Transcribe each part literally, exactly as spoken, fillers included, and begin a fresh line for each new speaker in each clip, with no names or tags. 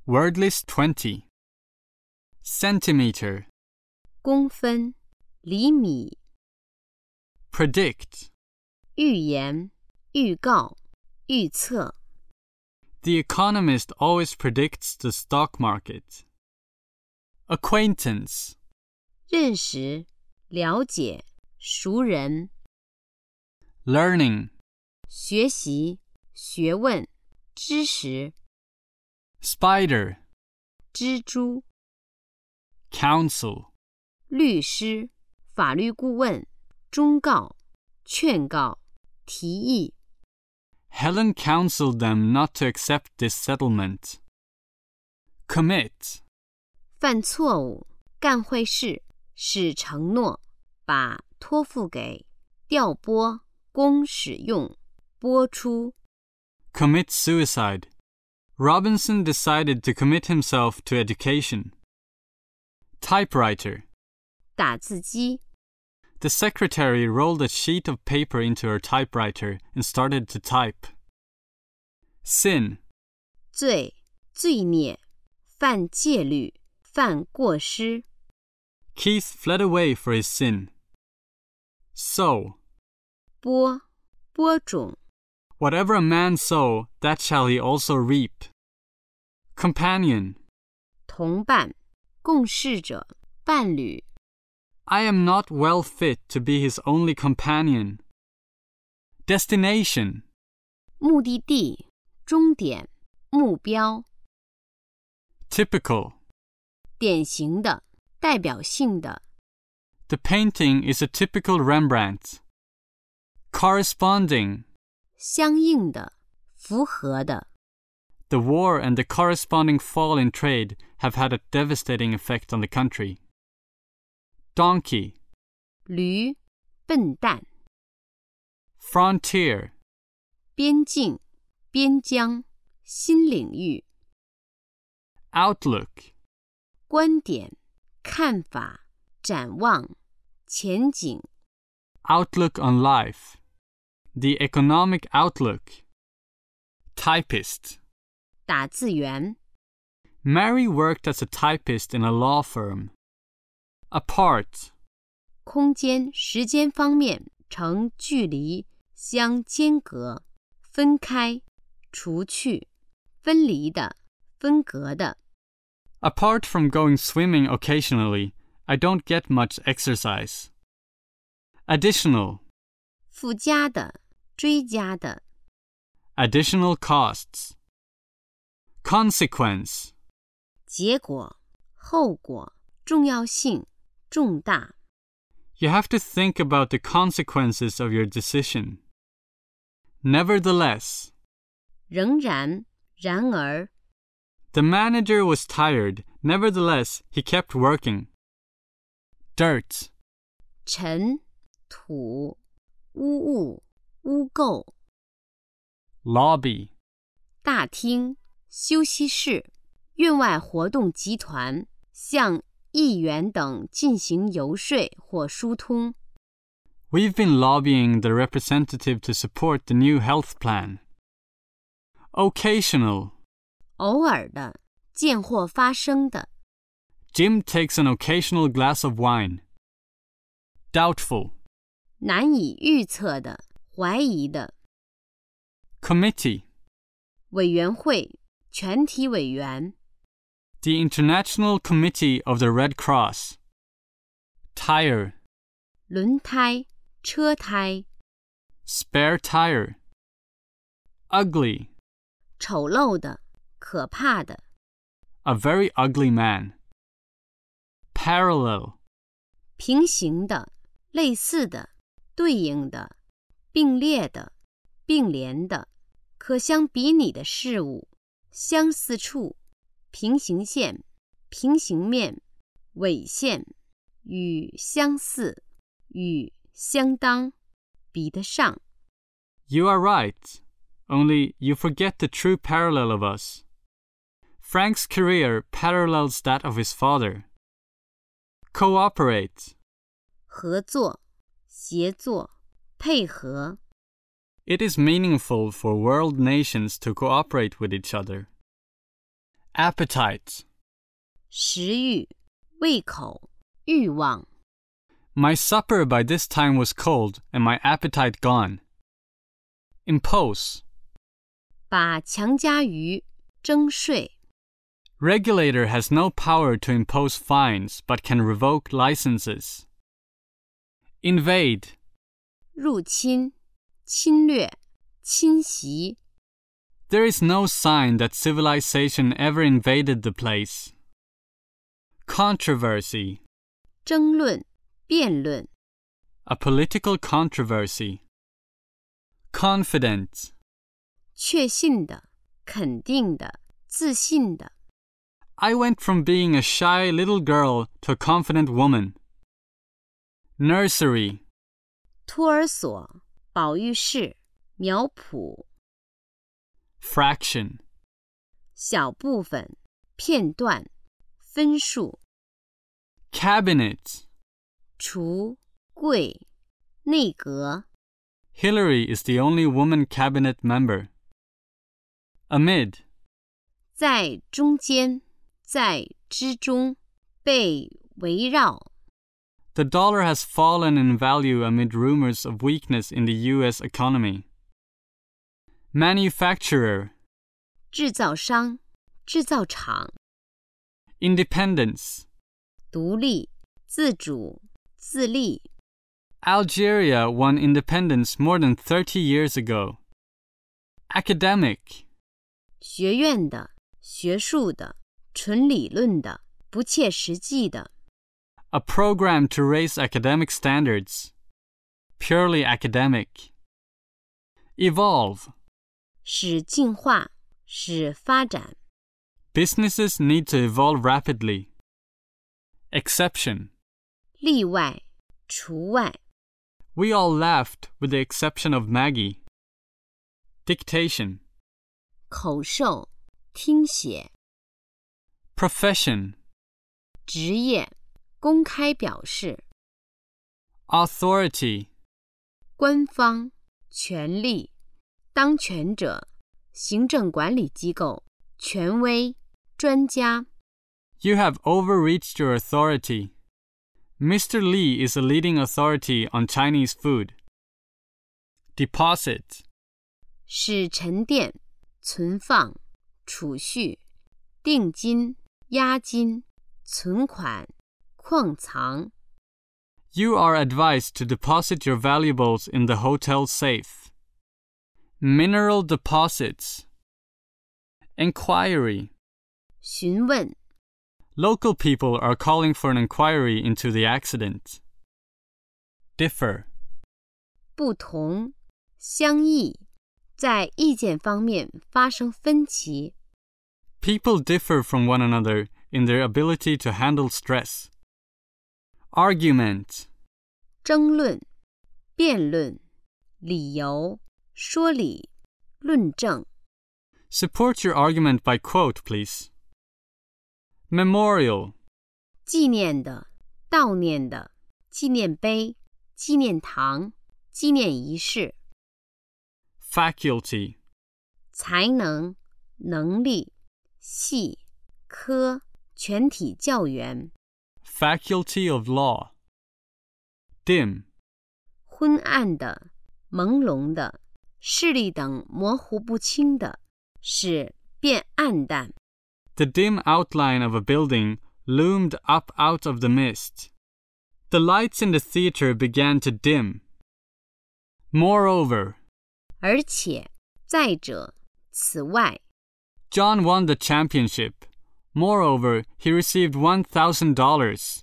Word list twenty. Centimeter.
公分、厘米、
Predict.
预言、预告、预测。
The economist always predicts the stock market. Acquaintance.
认识、了解、熟人。
Learning.
学习、学问、知识。
Spider.
蜘蛛。
Counsel.
律师、法律顾问、忠告、劝告、提议。
Helen counseled them not to accept this settlement. Commit.
犯错误、干坏事、使承诺、把托付给、调拨、供使用、播出。
Commit suicide. Robinson decided to commit himself to education. Typewriter.
打字机。
The secretary rolled a sheet of paper into her typewriter and started to type. Sin.
罪、罪孽、犯戒律、犯过失。
Keith fled away for his sin. Sow.
播、播种。
Whatever a man sow, that shall he also reap. Companion.
同伴、共事者、伴侣。
I am not well fit to be his only companion. Destination.
目的地、终点、目标。
Typical.
典型的、代表性的。
The painting is a typical Rembrandt. Corresponding.
相应的、符合的。
The war and the corresponding fall in trade have had a devastating effect on the country. Donkey.
驴、笨蛋。
Frontier.
边境、边疆、新领域。
Outlook.
观点、看法、展望、前景。
Outlook on life. The economic outlook. Typist.
打字员。
Mary worked as a typist in a law firm. Apart.
空间、时间方面呈距离相间隔，分开、除去、分离的、分隔的。
Apart from going swimming occasionally, I don't get much exercise. Additional.
附加的、追加的。
Additional costs. Consequence.
结果、后果、重要性、重大。
You have to think about the consequences of your decision. Nevertheless.
仍然、然而。
The manager was tired. Nevertheless, he kept working. Dirt.
尘、土、污物、污垢。
Lobby.
大厅、休息室、院外活动集团向议员等进行游说或疏通。
We've been lobbying the representative to support the new health plan. Occasional.
偶尔的、见或发生的。
Jim takes an occasional glass of wine. Doubtful.
难以预测的、怀疑的。
Committee.
委员会、全体委员。
The International Committee of the Red Cross. Tire.
轮胎、车胎。
Spare tire. Ugly.
丑陋的、可怕的。
A very ugly man. Parallel.
平行的、类似的、对应的、并列的、并联的、可相比拟的事物、相似处、平行线、平行面、纬线、与相似、与相当、比得上。
You are right. Only you forget the true parallel of us. Frank's career parallels that of his father. Cooperate.
合作、协作、配合。
It is meaningful for world nations to cooperate with each other. Appetite.
食欲、胃口、欲望。
My supper by this time was cold and my appetite gone. Impose.
把强加于征税。
Regulator has no power to impose fines but can revoke licenses. Invade.
入侵、侵略、侵袭。
There is no sign that civilization ever invaded the place. Controversy.
争论、辩论。
A political controversy. Confident.
确信的、肯定的、自信的。
I went from being a shy little girl to a confident woman. Nursery.
托儿所、保育室、苗圃。
Fraction.
小部分、片段、分数。
Cabinet.
橱、柜、内阁。
Hillary is the only woman cabinet member. Amid.
在中间，在之中，被围绕。
The dollar has fallen in value amid rumors of weakness in the U S economy. Manufacturer.
制造商、制造厂。
Independence.
独立、自主、自立。
Algeria won independence more than thirty years ago. Academic.
学院的、学术的、纯理论的、不切实际的。
A program to raise academic standards. Purely academic. Evolve.
使进化，使发展。
Businesses need to evolve rapidly. Exception.
例外，除外。
We all laughed with the exception of Maggie. Dictation.
口授、听写。
Profession.
职业，公开表示。
Authority.
官方，权力，当权者，行政管理机构，权威，专家。
You have overreached your authority. Mister Lee is a leading authority on Chinese food. Deposit.
是沉淀、存放、储蓄、定金、押金、存款、矿藏。
You are advised to deposit your valuables in the hotel safe. Mineral deposits. Inquiry.
询问。
Local people are calling for an inquiry into the accident. Differ.
不同，相异，在意见方面发生分歧。
People differ from one another in their ability to handle stress. Argument.
争论、辩论、理由、说理、论证。
Support your argument by quote, please. Memorial.
纪念的、悼念的、纪念碑、纪念堂、纪念仪式。
Faculty.
才能、能力、系、科、全体教员。
Faculty of law. Dim.
昏暗的、朦胧的、视力等模糊不清的，使变暗淡。
The dim outline of a building loomed up out of the mist. The lights in the theater began to dim. Moreover.
而且，再者，此外。
John won the championship. Moreover, he received one thousand dollars.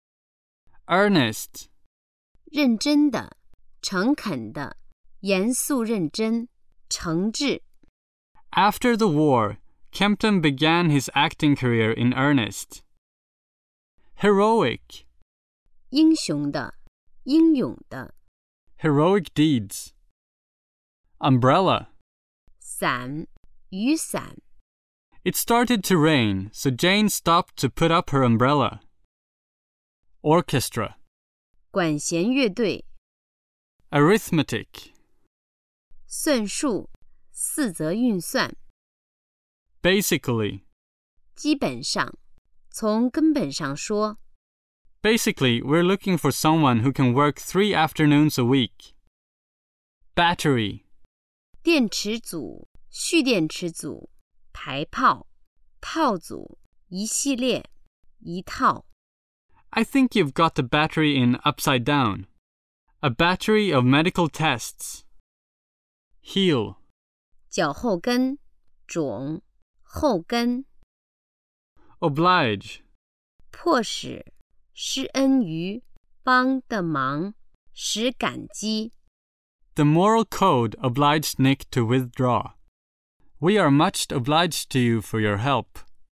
Earnest.
认真的、诚恳的、严肃认真、诚挚。
After the war, Kempton began his acting career in earnest. Heroic.
英雄的、英勇的。
Heroic deeds. Umbrella.
伞、雨伞。
It started to rain, so Jane stopped to put up her umbrella. Orchestra.
管弦乐队。
Arithmetic.
算术、四则运算。
Basically.
基本上，从根本上说。
Basically, we're looking for someone who can work three afternoons a week. Battery.
电池组、蓄电池组、排炮、套组、一系列、一套。
I think you've got the battery in upside down. A battery of medical tests. Heel.
脚后跟、踵、后跟。
Oblige.
迫使、施恩于、帮的忙、使感激。
The moral code obliged Nick to withdraw. We are much obliged to you for your help.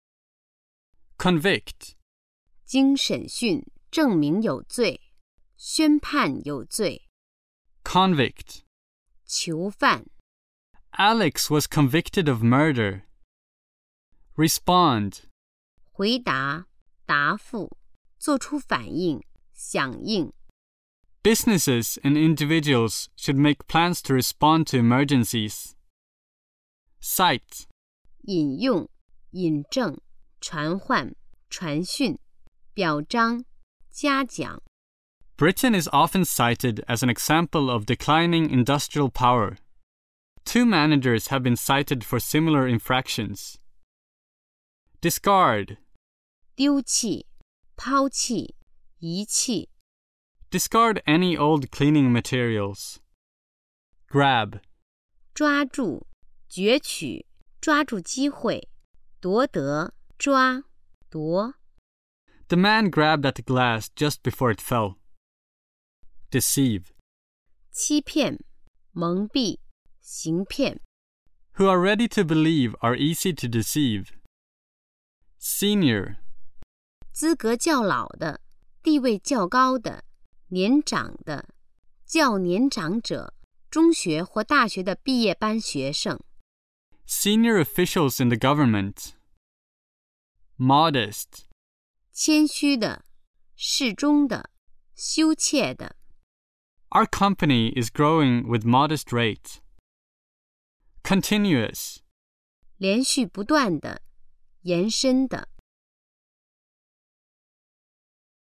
Convict.
经审讯证明有罪，宣判有罪。
Convict.
囚犯。
Alex was convicted of murder. Respond.
回答、答复、做出反应、响应。
Businesses and individuals should make plans to respond to emergencies. Cite.
引用、引证、传唤、传讯、表彰、嘉奖。
Britain is often cited as an example of declining industrial power. Two managers have been cited for similar infractions. Discard.
丢弃、抛弃、遗弃。
Discard any old cleaning materials. Grab.
抓住、攫取、抓住机会、夺得、抓、夺。
The man grabbed at the glass just before it fell. Deceive.
欺骗、蒙蔽、行骗。
Who are ready to believe are easy to deceive. Senior.
资格较老的、地位较高的、年长的、较年长者、中学或大学的毕业班学生。
Senior officials in the government. Modest.
谦虚的、适中的、羞怯的。
Our company is growing with modest rate. Continuous.
连续不断的、延伸的。